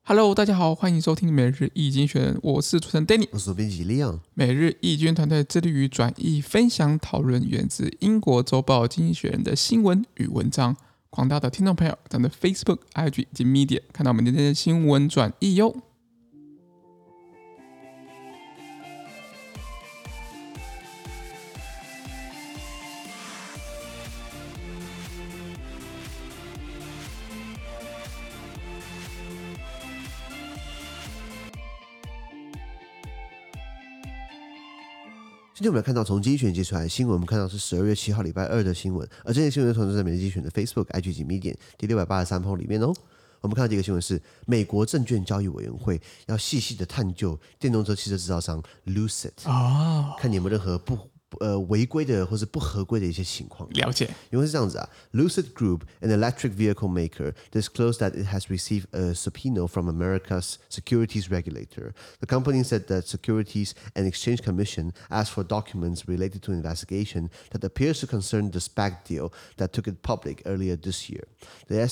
Hello， 大家好，歡迎收聽每日一經選人，我是主持人 Danny， 我是編輯Leon。 每日一經團隊致力於轉譯、分享、討論源自英國週報《經濟學人》的新聞與文章。廣大的聽眾朋友，咱們的 Facebook、IG 以及 Media 看到我們今天的新聞轉譯喲。 今天我們來看到從經濟學人接出來的新聞，我們看到是12月7號禮拜二的新聞，而這些新聞同時在每日經濟學人的 Facebook、IG 及 Medium 第683篇裡面哦。我們看到第一個新聞是美國證券交易委員會要細細的探究電動車汽車製造商 Lucid， 看你有沒有任何違規的或是不合規的一些情況。 了解， 因為是這樣子啊 ，Lucid Group, an electric vehicle maker, disclosed that it has received a subpoena from America's securities regulator. The company said that Securities and Exchange Commission asked for documents related to an investigation that appears to concern the SPAC deal that took it public earlier this year. The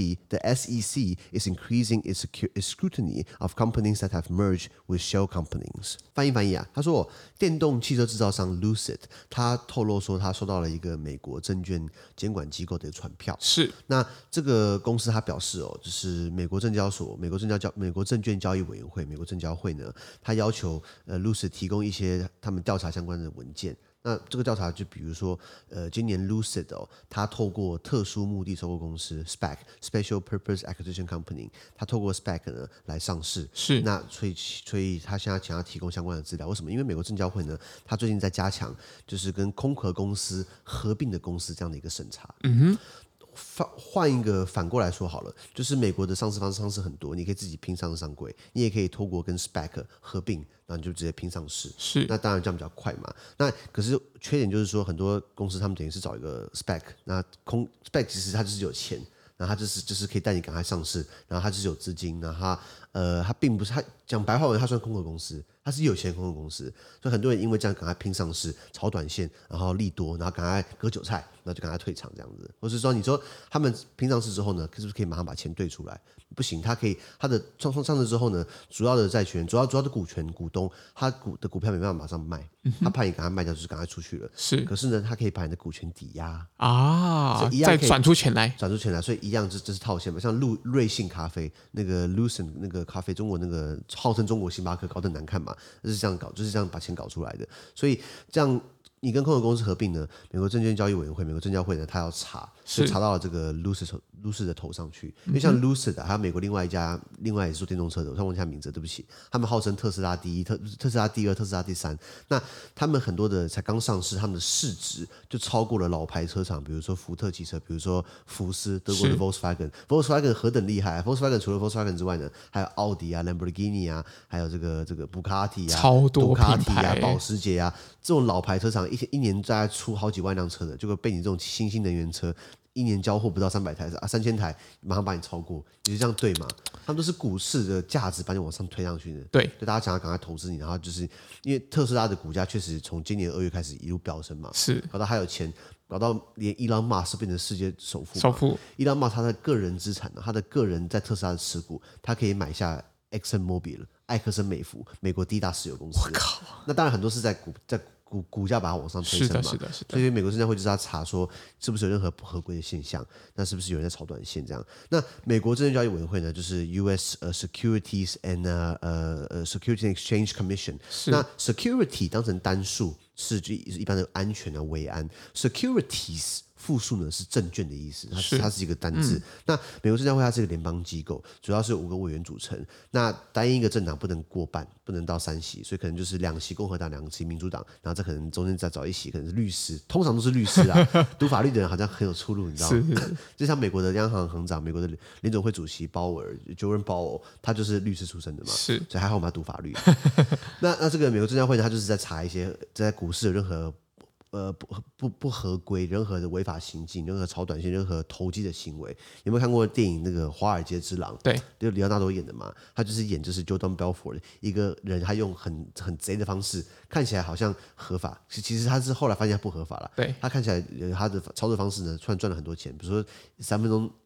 SEC is increasing its scrutiny of companies that have merged with shell companies. 翻譯啊，他說電動汽車製造商 Lucid。他透露說，他收到了一個美國證券監管機構的傳票。 是， 那這個公司他表示就是美國證交所、美國證券交易委員會、美國證交會呢，他要求Lucid 提供一些他們調查相關的文件。那這個調查就比如說，今年 Lucid 他透過特殊目的收購公司 SPAC（Special Purpose Acquisition Company）， 他透過 SPAC 呢來上市。 是，那所以他現在想要提供相關的資料。為什麼？因為美國證交會呢，他最近在加強就是跟空殼公司合併的公司這樣的一個審查。換一個反過來說好了，就是美國的上市方式很多，你可以自己拼上上櫃，你也可以透过跟 SPAC 合併，然後你就直接拼上市。 是， 那当然這樣比較快嘛。那可是缺點就是說，很多公司他們等於是找一個 SPAC， 那SPAC 其實它就是有錢，然後它就是可以帶你趕快上市，然後它就是有資金，然後它並不是它講白話文，它算空殼公司。它是有錢的空殼公司，所以很多人因為這樣趕快拼上市，炒短線，然後利多，然後趕快割韭菜，然後就趕快退場這樣子。或是說，你說他們拼上市之後呢，是不是可以馬上把錢兌出來？不行，他可以他的上市之後呢，主要的債權、主要的股東，他的股票沒辦法馬上賣，他怕你趕快賣掉，就是趕快出去了。 是， 可是呢，他可以把你的股權抵押啊，再轉出錢來， 所以一樣這是套现嘛。像瑞幸咖啡那個 Lucid 那個咖啡，中國那個號稱中國星巴克，搞得難看嘛。就是這樣搞，就是這樣把錢搞出來的。所以這樣你跟空殼公司合併呢，美國證券交易委員會、美國證交會呢，他要查，就查到了這個 Lucid 的頭上去。因為像 Lucid 還有美國另外也是做電動車的，我忘記他名字，對不起。他們號稱特斯拉第一、特斯拉第二、特斯拉第三。那他們很多的才剛上市，他們的市值就超過了老牌車廠，比如說福特汽車，比如說福斯，德國的 Volkswagen 何等厲害啊 ！Volkswagen 除了 Volkswagen 之外呢，還有奧迪啊、Lamborghini 啊，還有這個布卡迪啊、 超多杜卡迪啊、保時捷啊，這種老牌車廠一年大概出好幾萬輛車的，就會被你這種新興能源車一年交貨不到300台3000台，馬上把你超過，你就這樣對嗎？他們都是股市的價值把你往上推上去的。 對， 就大家想要趕快投資你，然後就是因為特斯拉的股價確實從今年2月開始一路飆升嘛， 是搞到他有錢，搞到連伊朗馬斯變成世界首富。伊朗馬斯他的個人資產呢，他的個人在特斯拉的持股，他可以買下 ExxonMobil 埃克森美孚，美國第一大石油公司。我靠！那當然很多是在股價把它往上推升嘛，是的。所以美國證交會就是要查說是不是有任何不合規的現象，那是不是有人在炒短線這樣？那美國證券交易委員會呢，就是 U.S. Securities and Securities and Exchange Commission。那 security 當成單數是一般的安全啊、維安 ，securities。複數呢是證券的意思，它是一個單字。那美國證交會它是一個聯邦機構，主要是5個委員組成。那單一一個政黨不能過半，不能到3席，所以可能就是2席共和黨，2席民主黨，然後這可能中間再找1席，可能是律師，通常都是律師啦。讀法律的人好像很有出路，你知道嗎？就像美國的央行行長、美國的聯準會主席鮑爾 （Jerome Powell），他就是律師出身的嘛，所以還好我們要讀法律。那這個美國證交會呢，他就是在查一些在股市有任何不合規，任何的違法行徑，任何炒短線，任何投機的行為。有沒有看過電影那個《華爾街之狼》？對，就里奧納多演的嘛。他就是演Jordan Belfort 一個人，他用很賊的方式，看起來好像合法，其實他是後來發現他不合法了。對，他看起來他的操作方式呢，突然賺了很多錢。比如說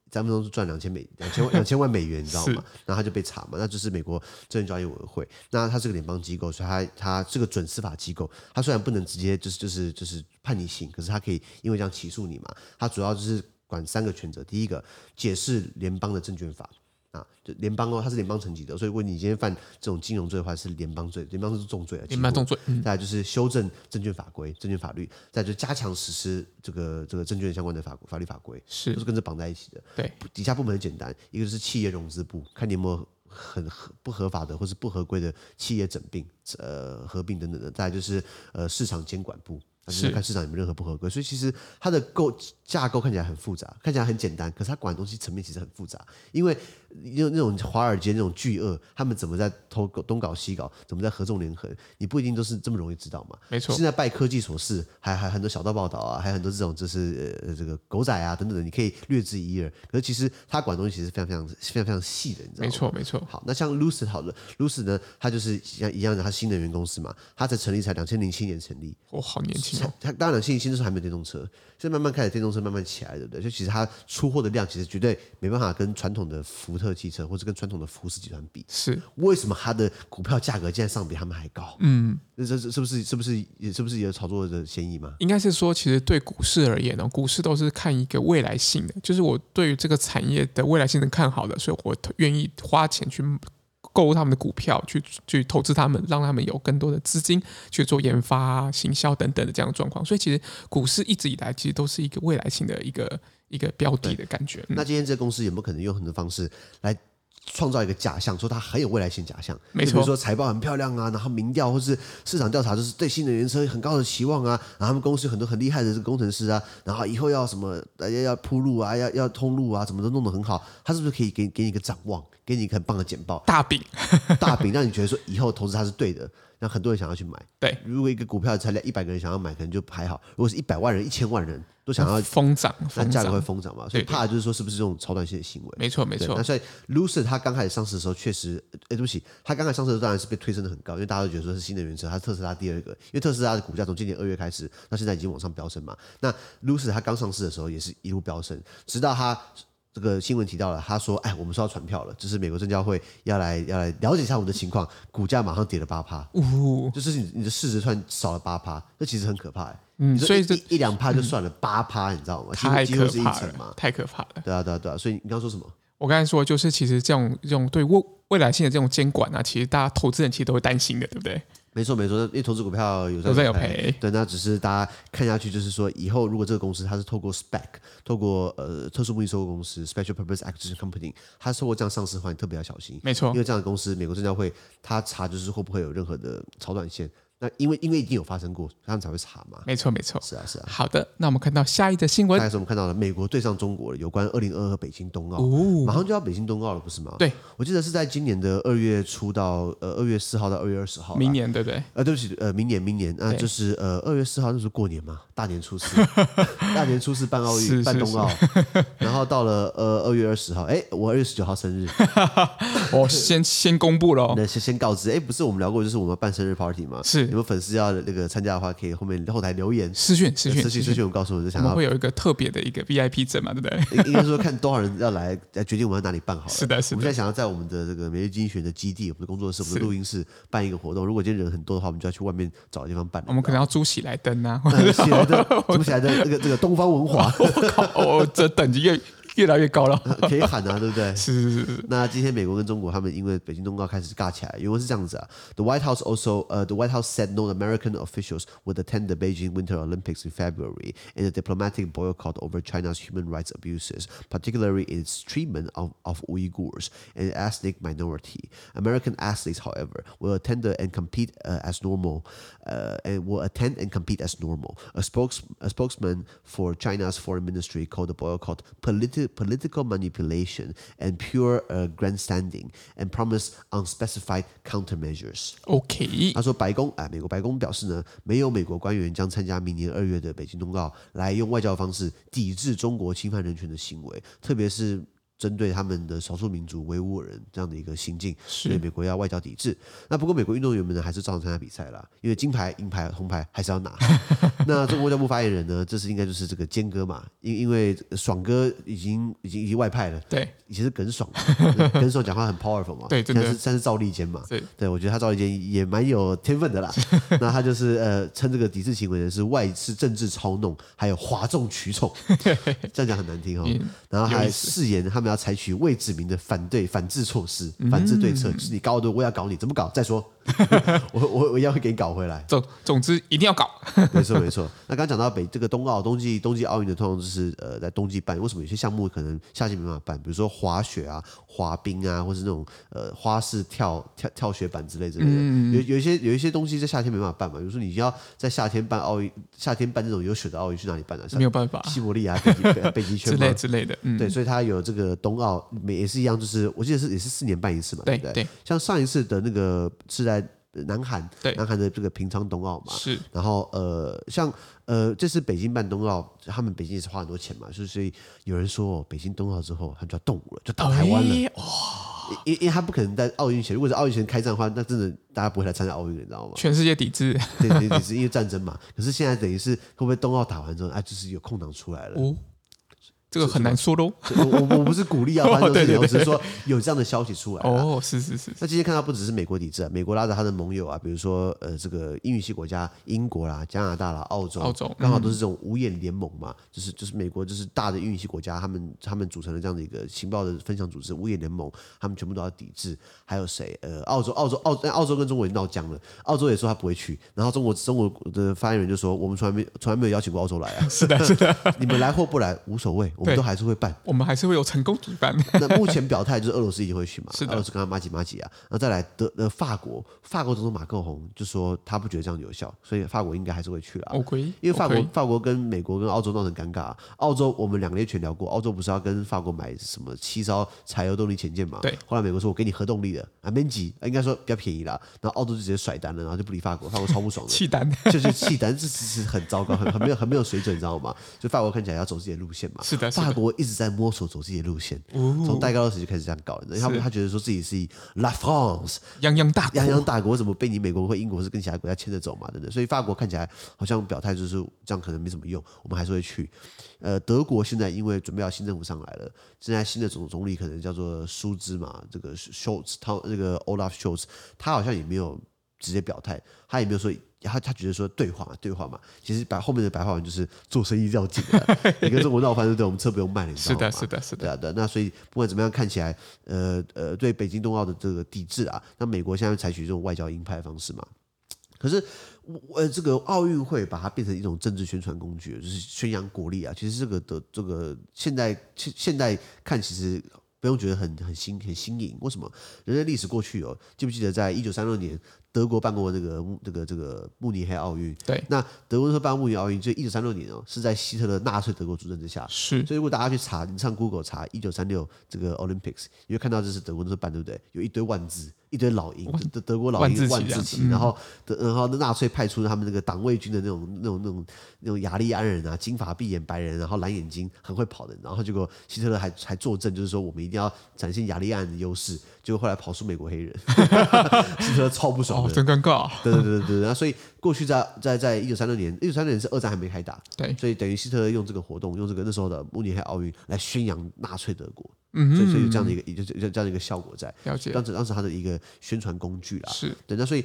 張文忠是賺2000萬美元，你知道嗎？然後他就被查嘛，那就是美国證券交易委員會，那他是個聯邦機構，所以他是個準司法機構，他雖然不能直接就是判你刑，可是他可以因為這樣起訴你嘛。他主要就是管3個權責，第一個解釋聯邦的證券法。就聯邦它是聯邦層級的，所以如果你今天犯這種金融罪的話，是聯邦罪，聯邦是重罪， 聯邦重罪。 再來就是修正證券法規、證券法律，再來就是加強實施這個證券相關的法律法規，都是跟着綁在一起的。 对， 底下部門很簡單，一個是企業融資部，看你有沒有很不合法的或是不合規的企業整併、合併等等的，再來就是市場監管部。就是看市場有沒有任何不合規，所以其實它的架構看起來很複雜，看起來很簡單，可是它管的東西層面其實很複雜。因為那種華爾街那種巨鱷，他們怎麼在東搞西搞，怎麼在合縱連橫，你不一定都是這麼容易知道嘛。 沒錯。 現在拜科技所賜，還很多小道報道啊，還有很多這種就是這個狗仔啊等等的，你可以略知一二。可是其實他管的東西其實非常細的，你知道嗎？ 沒錯沒錯。好， 那像 Lucid 好了 ，Lucid 呢，它就是一樣的，它新能源公司嘛，它才成立才2007年成立， 好年輕。 它当然2007年的时候還沒有電動車，現在慢慢開始電動車慢慢起來，對不對？就其實它出貨的量其實絕對沒辦法跟傳統的福特汽車或者跟傳統的福斯集團比。 是為什麼它的股票價格竟然上比他們還高？這是不是有炒作的嫌疑嗎？應該是說，其實對股市而言呢，股市都是看一個未來性的，就是我對於這個產業的未來性是看好的，所以我願意花錢去購入他們的股票，去投資他們，讓他們有更多的資金去做研發、行銷等等的這樣的狀況。所以其實股市一直以來其實都是一個未來性的一個標的的感覺。 那今天這個公司有沒有可能用很多方式來創造一個假象，說它很有未來性假象？ 沒錯， 比如說財報很漂亮啊，然後民調或是市場調查就是對新能源車很高的期望啊，然後他們公司有很多很厲害的這個工程師啊，然後以後要什麼要鋪路啊，要通路啊，什麼都弄得很好，他是不是可以給你一個展望？給你一個很棒的簡報，大餅，讓你覺得說以後投資它是對的，讓很多人想要去買。對，如果一個股票才100個人想要買，可能就還好；如果是100萬人、1000萬人都想要瘋漲， 那價格會瘋漲嘛。所以怕的就是說是不是這種超短線的行為？ 沒錯沒錯。 那所以 Lucid 它剛開始上市的時候，確實，對不起，它剛開始上市的時候當然是被推升的很高，因為大家都覺得說是新能源車，它是特斯拉第2個，因為特斯拉的股價從今年2月開始，到現在已經往上飆升嘛。那 Lucid 它剛上市的時候也是一路飆升，直到它。這個新聞提到了，他說：“哎，我們收到傳票了，就是美國證交會要來了解一下我們的情況，股價馬上跌了8%，就是你的市值突然少了8%，這其實很可怕。 所以一兩趴就算了，8%你知道嗎？幾乎是1成嘛， 太可怕了。 對啊。所以你剛剛說什麼？ 我剛才說就是，其實這種對未來性的這種監管啊，其實大家投資人其實都會擔心的，對不對？”沒錯， 因為投資股票有賺有賠，對，那只是大家看下去，就是說以後如果這個公司它是透過 SPAC， 透過特殊目的收購公司 （Special Purpose Acquisition Company），它是透過這樣上市的話，你特別要小心。沒錯，因為這樣的公司，美國證交會它查就是會不會有任何的超短線。那因為一定有發生過，他們才會查嘛。沒錯。是啊。 好的，那我們看到下一則新聞。 下一則我們看到了美國對上中國了，有關2022北京冬奧，馬上就要北京冬奧了，不是嗎？對，我記得是在今年的2月初到2月4號到2月20號。 明年對不对？ 對不起，明年，就是2月4號那時候過年嘛，大年初四，大年初四辦奧運，辦冬奧，然後到了2月20號，我2月19號生日， 我先公布了， 先告知，不是我們聊過，就是我們辦生日 party 嘛，是。有沒有粉絲要那個參加的話，可以後台留言私訊，我告訴我，就想要我們會有一個特別的一個 VIP 證嘛，對不對？ 應該說看多少人要來決定我們要哪裡辦好了。是的。我們現在想要在我們的這個每日經濟學的基地、我們的工作室、我們的錄音室辦一個活動。如果今天人很多的話，我們就要去外面找個地方辦。我們可能要租喜來登啊， 租喜來登這個東方文華。 我這等級越來越高了， 可以喊啊，對不對？ 是。 那今天美國跟中國他們因為北京冬奧開始尬起來，原文是這樣子啊。The White House said no American officials would attend the Beijing Winter Olympics in February in a diplomatic boycott over China's human rights abuses, particularly its treatment of Uyghurs, an ethnic minority. American athletes, however, will attend and compete as normal. A spokesman for China's foreign ministry called the boycott political manipulation and pure grandstanding, and promised unspecified countermeasures. OK， 他說美國白宮表示呢，沒有美國官員將參加明年2月的北京冬奧，來用外交方式抵制中國侵犯人權的行為，特別是針對他們的少數民族維吾爾人這樣的一個行徑，所以美國要外交抵制。那不過美國運動員們呢，還是照常參加比賽啦，因為金牌、銀牌、紅牌還是要拿。那中國外交部發言人呢，這是應該就是這個堅哥嘛，因為爽哥已經外派了， 對， 以前是耿爽，耿爽講話很 powerful 嘛， 对，真的， 現在是趙立堅嘛，對，我覺得他趙立堅也蠻有天分的啦。那他就是稱這個抵制行為呢是政治操弄，還有譁眾取寵，這樣講很難聽哦。然後還誓言他們要採取未指明的反制措施、反制對策，就是你搞我，我要搞你，怎麼搞？再說，我一樣會給你搞回來。 總之一定要搞。 沒錯。那剛剛講到這個冬季奧運的，通常就是在冬季辦。為什麼有些項目可能夏季沒辦法辦？比如說滑雪啊、滑冰啊，或是那種花式跳雪板之類的。有一些東西在夏天沒辦法辦嘛。比如說你要在夏天辦奧運，夏天辦這種有雪的奧運，去哪裡辦呢？ 沒有辦法， 西伯利亞、北極圈之類的。 對，所以它有這個冬奧，也是一樣，就是我記得也是4年辦一次嘛，對不對？像上一次的那個是在南韓的這個平昌冬奧嘛，是。然後像這次北京辦冬奧，他們北京也是花很多錢嘛，所以有人說北京冬奧之後，他們就要動武了，就打台灣了。因為他不可能在奧運前，如果是奧運前開戰的話，那真的大家不會來參加奧運，你知道嗎？ 全世界抵制， 對，抵制，因為戰爭嘛。可是現在等於是会不會冬奧打完之後，就是有空檔出來了。 這個很難說嘍。 我不是鼓勵啊，我只是說有這樣的消息出來。 是。 那今天看到不只是美國抵制啊，美國拉着他的盟友啊，比如說這個英語系國家英國啦、加拿大啦、澳洲剛好都是這種五眼聯盟嘛，就是美國就是大的英語系國家，他們組成了這樣的一個情報的分享組織五眼聯盟，他們全部都要抵制。還有誰？澳洲跟中國也鬧僵了，澳洲也說他不會去，然後中國的發言人就說，我們從來沒有邀請過澳洲來啊。是的，你們來或不來無所謂。我們都還是會辦， 我們還是會有成功舉辦。 那目前表態就是俄羅斯一定會去嘛， 是的， 俄羅斯跟他麻吉啊。然後再來法國總統馬克宏就說他不覺得這樣有效，所以法國應該還是會去了。因為法國跟美國跟澳洲鬧成尷尬。澳洲我們2個月前聊過，澳洲不是要跟法國買什麼7艘柴油動力潛艦嘛？對。後來美國說我給你核動力的，免急，應該說比較便宜啦。然後澳洲就直接甩單了，然後就不理法國，法國超不爽的。棄單，就是棄單，這其實很糟糕，很沒有水準，你知道嗎？所以法國看起來要走自己的路線嘛。是的。法國一直在摸索走自己的路線，從戴高樂時就開始這樣搞，他覺得說自己是La France 泱泱大國，怎麼被你美國或英國是跟其他國家牽着走嘛？對不對？所以法國看起來好像表態就是這樣，可能沒什麼用，我們還是會去。德國現在因為準備要新政府上來了，現在新的總理可能叫做舒茲嘛，這個 Scholz， 那個 Olaf Scholz， 他好像也沒有直接表態，他也沒有說。他覺得說對話嘛，其實後面的白話文就是做生意要緊的。你跟中國鬧翻，對不對？我們車不用賣了，你知道嗎？是的。對。那所以不管怎麼樣，看起來對北京冬奧的這個抵制啊，那美國現在採取這種外交鷹派的方式嘛。可是這個奧運會把它變成一種政治宣傳工具，就是宣揚國力啊。其實這個現在看其實不用覺得很新穎。為什麼？人類歷史過去記不記得在1936年？德國辦過這個慕尼黑奧運，對，那德國辦慕尼黑奧運，就1936年是在希特勒納粹德國主政之下，是，所以如果大家去查，你上 Google 查1936這個 Olympics， 你會看到這是德國那時候辦，對不對？有一堆萬字，一堆老鷹，德國老鷹萬字旗，然後納粹派出他們那個黨衛軍的那種雅利安人啊，金髮碧眼白人，然後藍眼睛，很會跑的，然後結果希特勒還作證，就是說我們一定要展現雅利安人的優勢，結果後來跑出美國黑人，希特勒超不爽。 真尷尬。 對，然後所以過去在1936年，1936年是二戰還沒開打，對，所以等於希特勒用這個活動，用這個那時候的慕尼黑奧運來宣揚納粹德國，所以有這樣的一個效果在，了解。當時他的一個宣傳工具啦，是對。那所以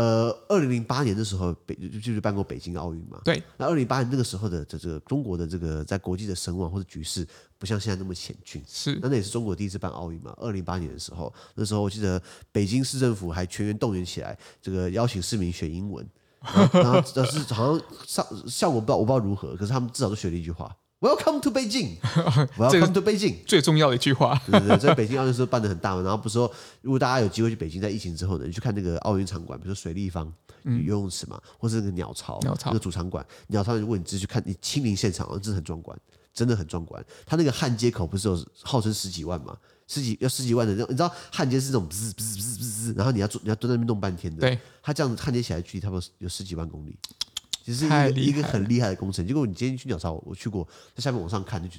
2008年的時候就是辦過北京奧運嘛，對。那2008年那個時候的這個中國的這個在國際的聲望或者局勢不像現在那麼險峻，是。那也是中國第一次辦奧運嘛，2008年的時候，那時候我記得北京市政府還全員動員起來，這個邀請市民學英文，然後是好像效果我不知道如何，可是他們至少都學了一句話 ：“Welcome to Beijing”。Welcome to Beijing， 最重要的一句話。 对，在北京奧運的时候辦得很大嘛，然後不是說如果大家有機會去北京，在疫情之後呢，你去看那個奧運場館，比如說水立方游泳池嘛，或是那個鳥巢那個主場館，鳥巢如果你直接去看，你親臨現場，真的很壯觀。真的很壯觀，他那個焊接口不是有號稱10幾萬嘛？十幾萬的那種，你知道焊接是這種滋滋滋滋滋，然後你要蹲在那邊弄半天的。對，他這樣子焊接起來距離差不多有10幾萬公里，其實是一個很厲害的工程。結果你今天去鳥巢，我去過，在下面往上看就覺得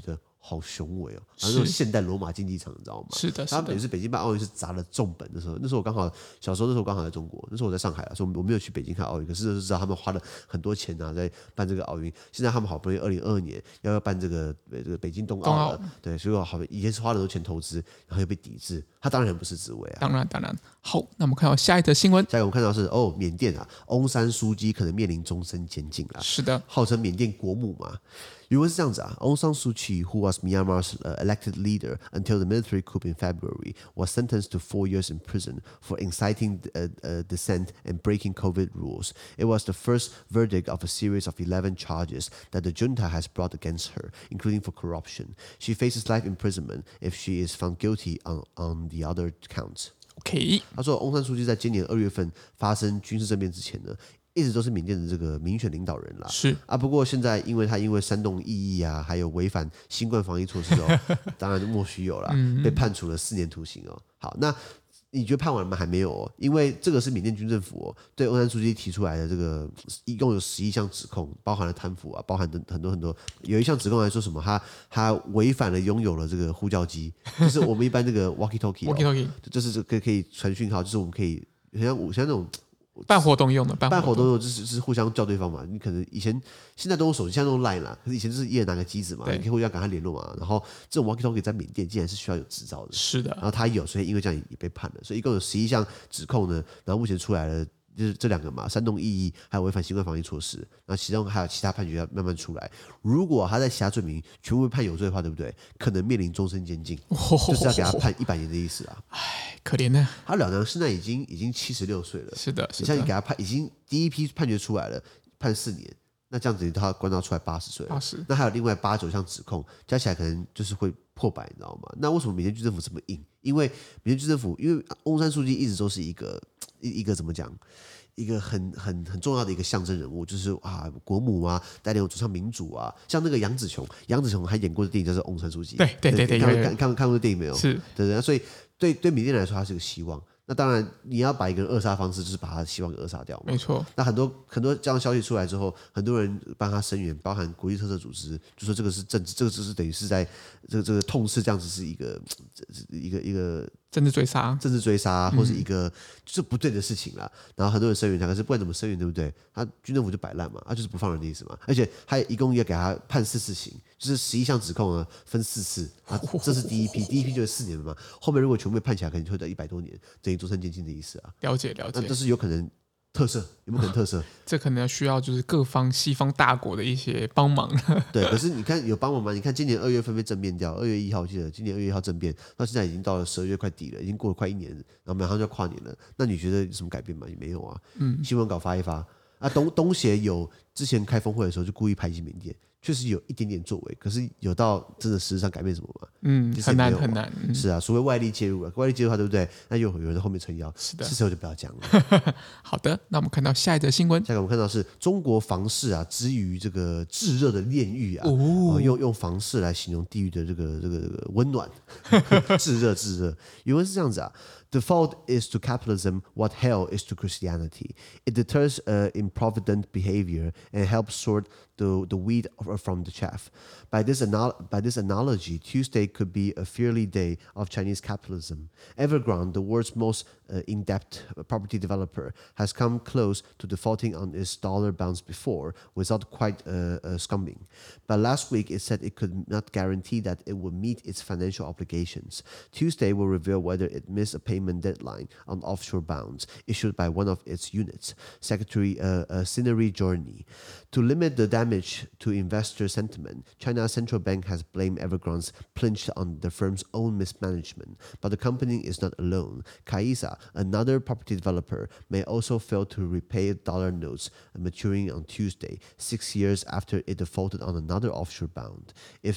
好雄偉哦，然後那種現代羅馬競技場，你知道嗎？ 是的， 他們等於是北京辦奧運是砸了重本的時候，那時候我剛好小時候，那時候我剛好在中國，那時候我在上海，所以我沒有去北京看奧運，可是就知道他們花了很多錢啊，在辦這個奧運。現在他們好不容易2022年要辦這個北京冬奧了，對，所以好以前是花了很多錢投資，然後又被抵制，他當然很不是滋味啊。 當然。好，那我們看到下一則新聞， 下一個我們看到是緬甸啊，翁山蘇姬可能面臨終身監禁啦。 是的， 號稱緬甸國母嘛。原文是這樣子啊 ，Aung San Suu Kyi, who was Myanmar's elected leader until the military coup in February, was sentenced to 4 years in prison for inciting dissent and breaking COVID rules. It was the first verdict of a series of 11 charges that the junta has brought against her, including for corruption. She faces life imprisonment if she is found guilty on the other counts. OK， 他說，翁山蘇姬在今年2月份發生軍事政變之前呢，一直都是緬甸的這個民選領導人啦。 是啊， 不過現在因為煽動異議啊，還有違反新冠防疫措施當然莫須有啦，被判處了4年徒刑哦。好，那你覺得判完了嗎？還沒有哦，因為這個是緬甸軍政府對翁山蘇姬提出來的這個一共有11項指控，包含了貪腐啊，包含很多。有一項指控來說什麼？他違反了擁有了這個呼叫機，就是我們一般這個 walkie-talkie， 就是這個可以傳訊號，就是我們可以像那種。 辦活動用的， 辦活動用就是互相叫對方嘛。你可能現在都用手機，現在都用 Line 啦，可是以前就是一人拿個機子嘛，你可以互相跟他聯絡嘛。然後這種 walkie-talkie 在緬甸竟然是需要有執照的， 是的。 然後他有，所以因為這樣也被判了，所以一共有11項指控呢。然後目前出來了。就是這2個嘛，煽動異議還有違反新冠防疫措施，然後其中還有其他判決要慢慢出來。如果他在其他罪名全部被判有罪的話，對不對？可能面臨終身監禁，就是要給他判100年的意思啊！ 唉，可憐呢。 他老娘現在已經76歲了， 是的。 你像你給他判，已經第一批判決出來了，判4年，那這樣子他關到出來80歲了，那還有另外8、9項指控，加起來可能就是會破百，你知道嗎？那為什麼緬甸軍政府這麼硬？因為緬甸軍政府，因為翁山蘇姬一直都是一個怎麼講？一個很重要的一個象徵人物，就是國母啊，帶領我走向民主啊。像那個楊紫瓊還演過的電影叫做《翁山蘇姬》，對，看過的電影沒有？是，對，所以對緬甸來說，他是個希望。那當然，你要把一個人扼殺的方式，就是把他希望給扼殺掉嘛。沒錯。那很多這樣消息出來之後，很多人幫他聲援，包含國際特赦組織，就說這個是政治，這個就是等於是在這個痛斥這樣子是一個政治追殺，或是一個就是不對的事情啦。然後很多人聲援他，可是不管怎麼聲援，對不對？他軍政府就擺爛嘛，他就是不放人的意思嘛。而且他一共要給他判4次刑，就是11項指控呢分4次啊，這是第一批就是4年嘛。後面如果全部被判起來，可能就會到100多年，等於終身監禁的意思啊。了解。那這是有可能。特赦有沒有可能特赦？這可能需要就是各方西方大國的一些幫忙。對，可是你看有幫忙嗎？你看今年2月份被政變掉，2月1號我記得今年2月1號政變，到現在已經到了12月快底了，已經過了快1年了，然後馬上就要跨年了。那你覺得有什麼改變嗎？也沒有啊。新聞稿發一發啊，東協有之前開峰會的時候就故意排擠緬甸。確實有一點點作為，可是有到真的實質上改變什麼嗎？很難。是啊，除非外力介入了，外力介入的話，對不對？那又有人在後面撐腰，是的，這時候就不要講了。好的，那我們看到下一則新聞，下一個我們看到是中國房市啊，之於這個炙熱的煉獄啊，用房市來形容地獄的這個溫暖，炙熱。原文是這樣子啊。Default is to capitalism what hell is to Christianity. It deters improvident behavior and helps sort the wheat from the chaff. By this analogy, Tuesday could be a fairly day of Chinese capitalism. Evergrande, the world's most in-depth property developer, has come close to defaulting on its dollar bonds before, without quite succumbing. But last week, it said it could not guarantee that it would meet its financial obligations. Tuesday will reveal whether it missed a payment deadline on offshore bonds issued by one of its units, Secretary Sineri Jorni. To limit the damage to investor sentiment, China's central bank has blamed Evergrande's plunge on the firm's own mismanagement. But the company is not alone. Caixa, another property developer, may also fail to repay dollar notes maturing on Tuesday, 6 years after it defaulted on another offshore bond.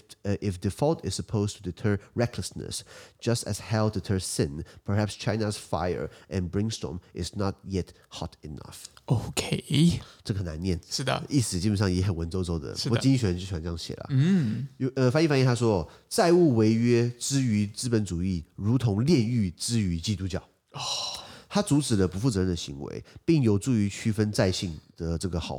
If default is supposed to deter recklessness, just as hell deters sin, perhaps China's fire and brimstone is not yet hot enough. OK， 這個很難念，是的，意思基本上也很文縐縐的。不過經濟學人就喜歡這樣寫了。翻譯，他說，債務違約之於資本主義，如同煉獄之於基督教。他阻止了不負責任的行為，並有助於區分債信的這個好壞。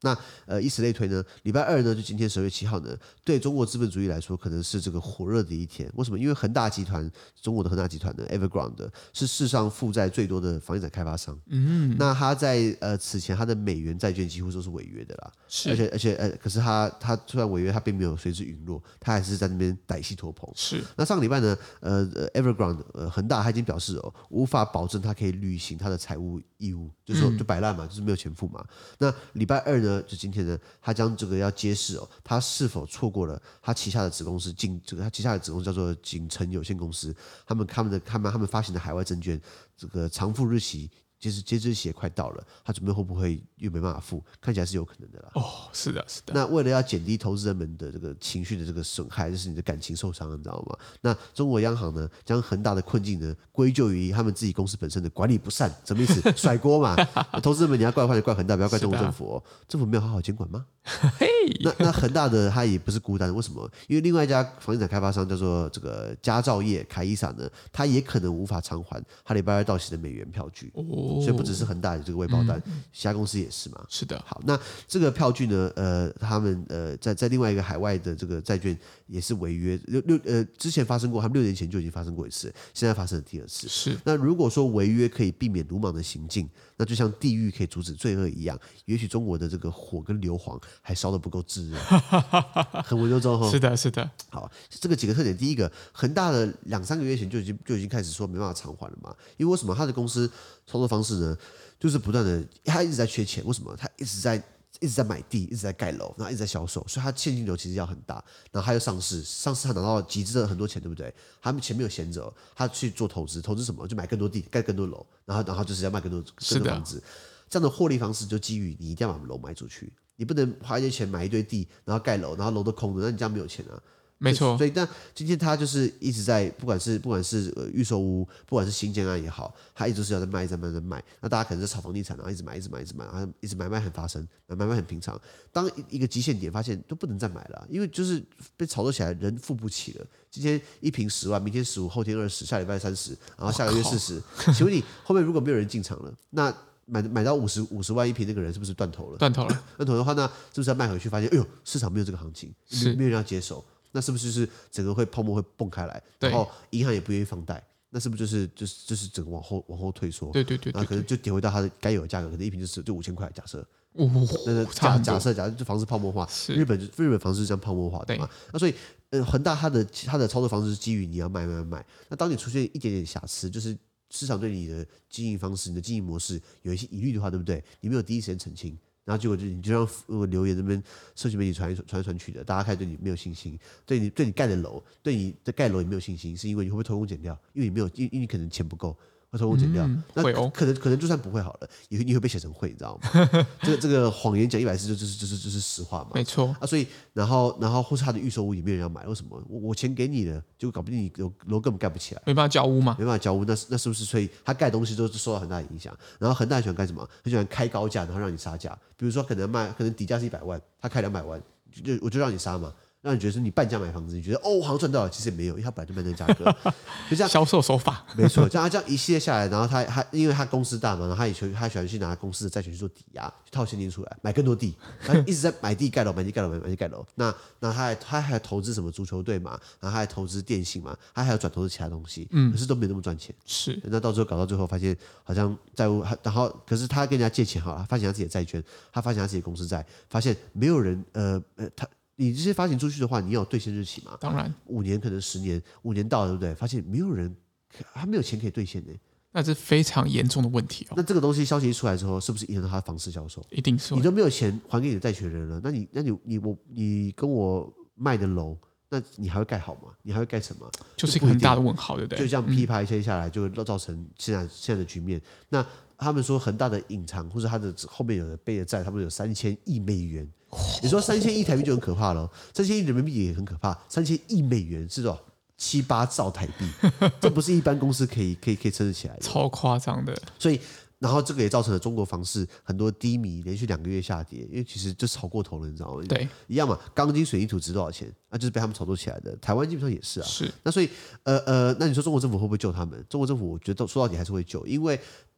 那以此類推呢，禮拜二呢，就今天10月7號呢，對中國資本主義來說，可能是這個火熱的一天。為什麼？因為恆大集團，中國的恆大集團呢 ，Evergrande 是世上負債最多的房地產開發商。那他在此前他的美元債券幾乎都是違約的啦。是。而且可是他雖然違約，他並沒有隨之隕落，他還是在那邊歹戲拖棚。是。那上個禮拜呢，Evergrande 恆大他已經表示無法保證他可以履行他的財務義務，就是說就擺爛嘛，就是沒有錢付嘛。那禮拜二呢，就今天呢，他將這個要揭示他是否錯過了他旗下的子公司他旗下的子公司叫做景誠有限公司，他們發行的海外證券這個償付日期。截止日期也快到了，他準備會不會又沒辦法付？看起來是有可能的啦。 是的，是的。 那為了要減低投資人們的這個情緒的這個損害，就是你的感情受傷了，你知道嗎？那中國央行呢，將恆大的困境呢歸咎於他們自己公司本身的管理不善，什麼意思？甩鍋嘛。投資人們你要怪恆大，不要怪中國政府政府沒有好好監管嗎？那恆大的他也不是孤單，為什麼？因為另外一家房地產開發商叫做這個佳兆業凱伊莎呢，他也可能無法償還他禮拜二到期的美元票據。所以不只是恆大的這個未爆彈，其他公司也是嘛。是的。好，那這個票據呢？他們在另外一個海外的這個債券也是違約。之前發生過，他們6年前就已經發生過一次，現在發生了第二次。是。那如果說違約可以避免魯莽的行徑，那就像地獄可以阻止罪惡一樣，也許中國的這個火跟硫磺還燒得不夠炙熱，很文縐縐哈。是的，是的。好，這個幾個特點，第一個，恆大的2-3個月前就已經開始說沒辦法償還了嘛，因為為什麼他的公司操作方式呢，就是不斷的，他一直在缺錢。為什麼？他一直在買地，一直在蓋樓，然後一直在銷售，所以他現金流其實要很大。然後他又上市他拿到集資了很多錢，對不對？他們錢沒有閒着，他去做投資什麼？就買更多地，蓋更多樓，然後就是要賣更多房子。這樣的獲利方式就基於你一定要把樓賣出去，你不能花一些錢買一堆地，然後蓋樓，然後樓都空的，那你這樣沒有錢啊。沒錯，所以但今天他就是一直在，不管是預售屋，不管是新建案也好，他一直是要在賣，在賣。那大家可能是炒房地產，然後一直買，然後一直買賣很發生，買賣很平常。當一個極限點發現都不能再買了，因為就是被炒作起來，人付不起了。今天一坪10萬，明天15，後天20，下禮拜30，然後下個月40。請問你後面如果沒有人進場了，那買到50萬一坪那個人是不是斷頭了？斷頭的話，那是不是要賣回去？發現哎呦，市場沒有這個行情，沒有人要接手。那是不是就是整個泡沫會蹦開來，然後銀行也不願意放貸，那是不是就是整個往後退縮？對，然後可能就跌回到它的該有的價格，可能一坪就5000塊，假設。假設就房子泡沫化，日本房子是這樣泡沫化的嘛？那所以恆大它的操作方式是基於你要賣。那當你出現一點點瑕疵，就是市場對你的經營方式、你的經營模式有一些疑慮的話，對不對？你沒有第一時間澄清。然後結果你就讓留言這邊社群媒體傳去的，大家開始對你沒有信心，對你蓋的樓，對你的蓋樓也沒有信心，是因為你會不會偷工減料？因為你可能錢不夠，會偷工減料。那可能就算不會好了，你會被寫成會，你知道嗎？這個謊言講100次就是實話嘛。沒錯啊，所以然後或是他的預售屋也沒有人要買，為什麼？我錢給你了，結果搞不定你樓根本蓋不起來，沒辦法交屋嘛，沒辦法交屋，那是不是？所以他蓋東西都受到很大的影響。然後恆大很喜歡幹什麼？很喜歡開高價，然後讓你殺價。比如說可能底價是100萬，他開200萬，我就讓你殺嘛。讓你覺得是你半價買房子，你覺得好像賺到了，其實也沒有，因為他本來就賣那個價格，就這樣銷售手法，沒錯。這樣一系列下來，然後他因為他公司大嘛，然後他喜歡去拿公司的債權去做抵押，去套現金出來買更多地，他一直在買地蓋樓，買地蓋樓。那他還投資什麼足球隊嘛，然後他還投資電信嘛，他還有轉投資其他東西，可是都沒那麼賺錢。是，那到最後搞到最後，發現好像債務，然後可是他跟人家借錢好了，發行他自己的債券，他發行他自己的公司債，發現沒有人你這些發行出去的話，你要有兌現日期嘛？當然，5年可能10年，5年到了，對不對？發現沒有人，他沒有錢可以兌現呢，那是非常嚴重的問題哦。那這個東西消息一出來之後，是不是影響到他的房市銷售？一定是。你都沒有錢還給你的債權人了，那你跟我賣的樓，那你還會蓋好嗎？你還會蓋成嗎？就是一個很大的問號，對不對？就這樣噼啪一切下來，就會造成現在的局面。那他們說恆大的隱藏或者他的後面有的背的債，他們有3000億美元。你說3000億台幣就很可怕了，3000億人民幣也很可怕，3000億美元是多少？7-8兆台幣，這不是一般公司可以撐得起來的，超誇張的。所以，然後這個也造成了中國房市很多低迷，連續2個月下跌，因為其實就炒過頭了，你知道嗎？對，一樣嘛，鋼筋水泥土值多少錢？那就是被他們炒作起來的。台灣基本上也是啊。是。那所以，那你說中國政府會不會救他們？中國政府我覺得說到底還是會救，因為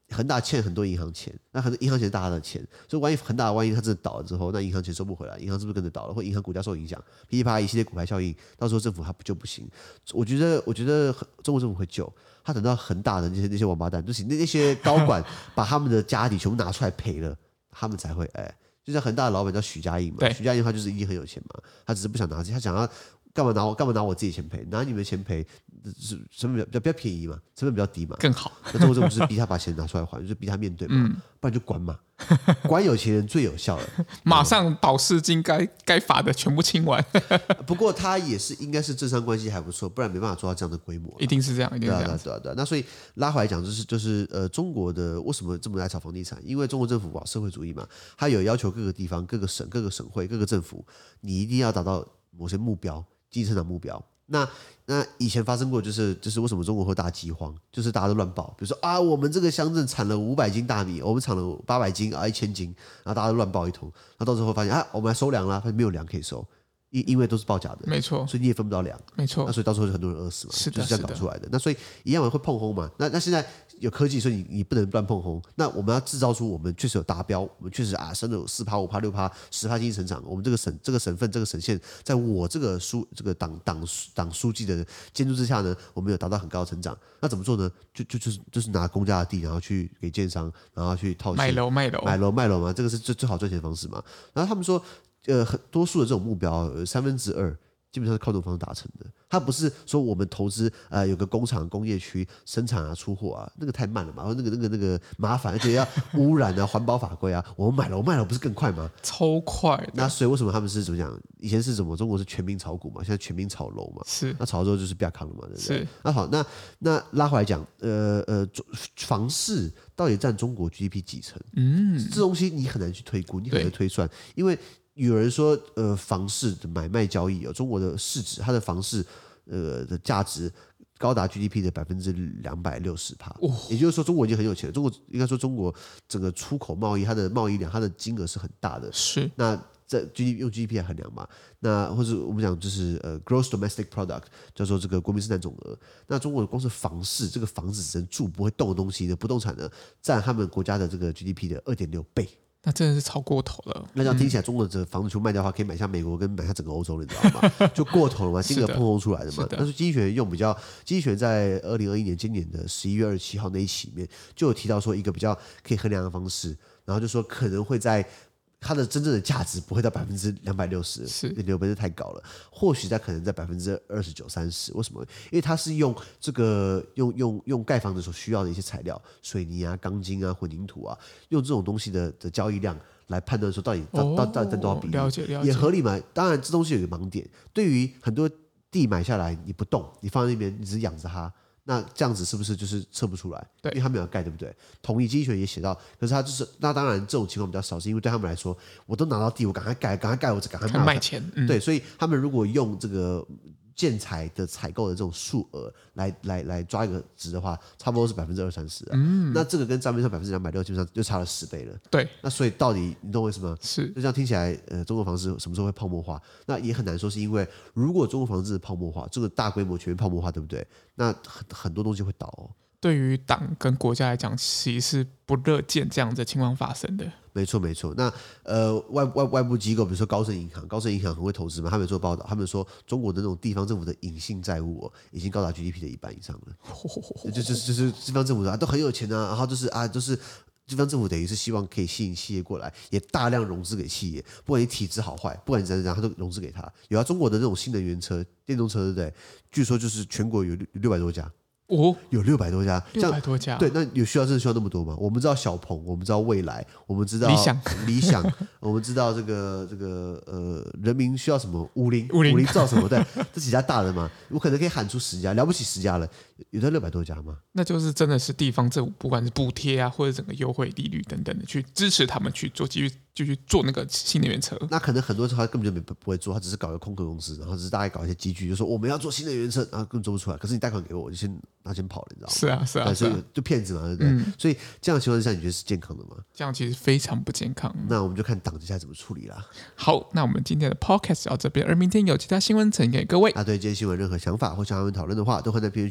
恆大欠很多銀行錢，那很多銀行錢是大家的錢，所以萬一它真的倒了之後，那銀行錢收不回來，銀行是不是跟着倒了，或銀行股價受影響，噼里啪啦一系列骨牌效應，到時候政府它就不行。我覺得中國政府會救，他等到恆大的那些王八蛋，就是那些高管把他們的家底全部拿出來賠了，他們才會就像恆大的老闆叫許家印嘛，許家印他就是一定很有錢嘛，他只是不想拿，他想要。幹嘛拿我自己錢賠？拿你們的錢賠，成本比較便宜嘛，成本比較低嘛， 更好。 那中国政府就是逼他把錢拿出來還，就是逼他面對嘛，不然就關嘛，關有錢人最有效了， 馬上保釋金該罰的全部清完。 不過他也是應該是政商關係還不錯，不然沒辦法做到這樣的規模。 一定是這樣，一定是這樣。 對。那所以拉回來講，就是中國的為什麼這麼愛炒房地產？因為中國政府社會主義嘛，他有要求各個地方、各個省、各個省會、各個政府，你一定要達到某些目標。經濟成長目標，那以前發生過，就是為什麼中國會大饑荒，就是大家都亂報，比如說我們這個鄉鎮產了500斤大米，我們產了800斤1000斤，然後大家都亂報一通，然後到時候發現我們來收糧了，發現沒有糧可以收，因為都是報假的， 沒錯， 所以你也分不到糧， 沒錯， 那所以到時候就很多人餓死嘛， 是的， 就是這樣搞出來的。那所以一樣會碰轟嘛，那現在有科技，所以你不能亂碰轟。那我們要制造出我們確實有達標，我們確實生了有4%、5%、6%、10%經濟成長。我們這個省份、這個省縣，在我這個黨書記的監督之下呢，我們有達到很高的成長。那怎麼做呢？就是拿公家的地，然後去給建商，然後去套現賣樓嘛，這個是最好賺錢的方式嘛。然後他們說，很多數的這種目標，2/3基本上是靠這種方式達成的。它不是說我們投資有個工廠、工業區生產出貨那個太慢了嘛，然後那個麻煩，而且要污染環保法規我們賣樓不是更快嗎？ 超快的。 那所以為什麼他們是怎麼講？以前是什麼？中國是全民炒股嘛，現在全民炒樓嘛。是。那炒了之後就是不要扛了嘛，對不對？是。那好，那拉回來講，房市到底佔中國 GDP 幾成？這東西你很難去推估，你很難推算，因為。有人說，房市的買賣交易中國的市值，它的房市的價值高達 GDP 的260%，也就是說，中國已經很有錢了。應該說，中國整個出口貿易，它的貿易量，它的金額是很大的。是。那在用 GDP 來衡量嘛？那或者我們講就是 Gross Domestic Product， 叫做這個國民生產總額。那中國光是房市，這個房子只能住不會動的東西的不動產呢，佔他們國家的這個 GDP 的2.6倍。 那真的是超過頭了。 那這樣聽起來，中國的房子全部賣掉的話，可以買下美國跟買下整個歐洲了，你知道嗎？就過頭了嘛，金額碰撞出來的嘛。但是經濟學人經濟學人在2021年今年的11月27號那一期裡面，就有提到說一個比較可以衡量的方式，然後就說可能會在。它的真正的價值不會到260%，是6倍是太高了。或許在可能在29%、30%。為什麼？因為它是用這個用蓋房子所需要的一些材料，水泥啊、鋼筋啊、混凝土啊，用這種東西的交易量來判斷說到底占多少比例，了解也合理嘛？當然，這東西有一個盲點，對於很多地買下來你不動，你放在那邊，你只是養着它。那這樣子是不是就是測不出來？對，因為他沒有蓋，對不對？同意，經濟學也寫到，可是他就是那當然這種情況比較少，是因為對他們來說，我都拿到地，我趕快蓋，我趕快賣錢。對，所以他們如果用這個建材的採購的這種數額來抓一個值的話，差不多是20%-30%啊。那這個跟賬面上260%基本上就差了10倍了。對，那所以到底你懂我意思嗎？是，就這樣聽起來，中國房市什麼時候會泡沫化？那也很難說，是因為如果中國房市泡沫化，這個大規模全面泡沫化，對不對？那很多東西會倒哦。對於黨跟國家來講，其實是不樂見這樣的情況發生的。沒錯。那外部機構，比如說高盛銀行很會投資嘛，他們做報道，他們說中國的那種地方政府的隱性債務已經高達 GDP 的1半以上了。就是地方政府都很有錢啊，然後就是地方政府等於是希望可以吸引企業過來，也大量融資給企業，不管你體質好壞，不管你怎樣，他都融資給他。有中國的那種新能源車、電動車，對不對？據說就是全國有600多家。有600多家，600多家，對，那真的需要那麼多嗎？我們知道小鵬，我們知道蔚來，我們知道理想，我們知道這個人民需要什麼？五菱造什麼？對，這幾家大的嘛，我可能可以喊出10家，了不起10家了，有到600多家嗎？那就是真的是地方政府，不管是補貼啊，或者整個優惠利率等等的，去支持他們去做繼續做那個新能源車。那可能很多時候他根本就不會做，他只是搞一個空殼公司，然後只是大概搞一些機具，就說我們要做新能源車，然後根本做不出來。可是你貸款給我，我就先跑了，你知道嗎？是啊，所以就騙子嘛，對不對？所以這樣的情況之下，你覺得是健康的嗎？這樣其實非常不健康。那我們就看黨接下來怎麼處理啦。好，那我們今天的 podcast 到這邊，而明天有其他新聞呈現給各位。對今天新聞任何想法或想要討論的話，都會在評論區留言哦。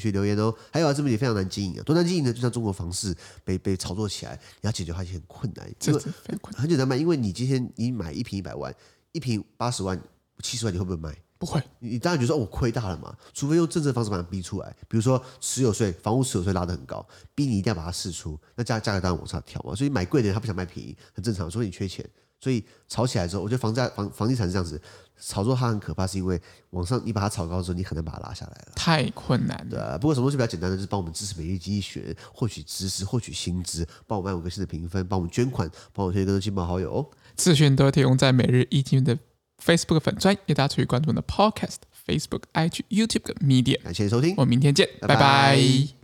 哦。還有自媒體非常難經營啊，多難經營呢？就像中國房市被炒作起來，你要解決它也很困難。因為很簡單嘛，因為你今天你買一坪100萬，一坪80萬、70萬，你會不會賣？ 不會。 你當然覺得說我虧大了嘛，除非用政策方式把它逼出來，比如說持有稅、房屋持有稅拉得很高，逼你一定要把它釋出，那價格當然往上調嘛。所以買貴的人他不想賣便宜，很正常，除非你缺錢。所以炒起來之後，我覺得房地產是這樣子，炒作它很可怕，是因為往上你把它炒高之後，你很難把它拉下來了，太困難了。 對啊，不過什麼東西比較簡單的，就是幫我們支持每日經濟學人，獲取知識、獲取薪資，幫我們按5顆星的評分，幫我們捐款，幫我推薦更多親朋好友哦。 資訊都會提供在每日一經的 Facebook 粉專，也大家注意關注我們的 Podcast、Facebook、IG、YouTube 跟 Media。 感謝收聽， 我們明天見，拜拜。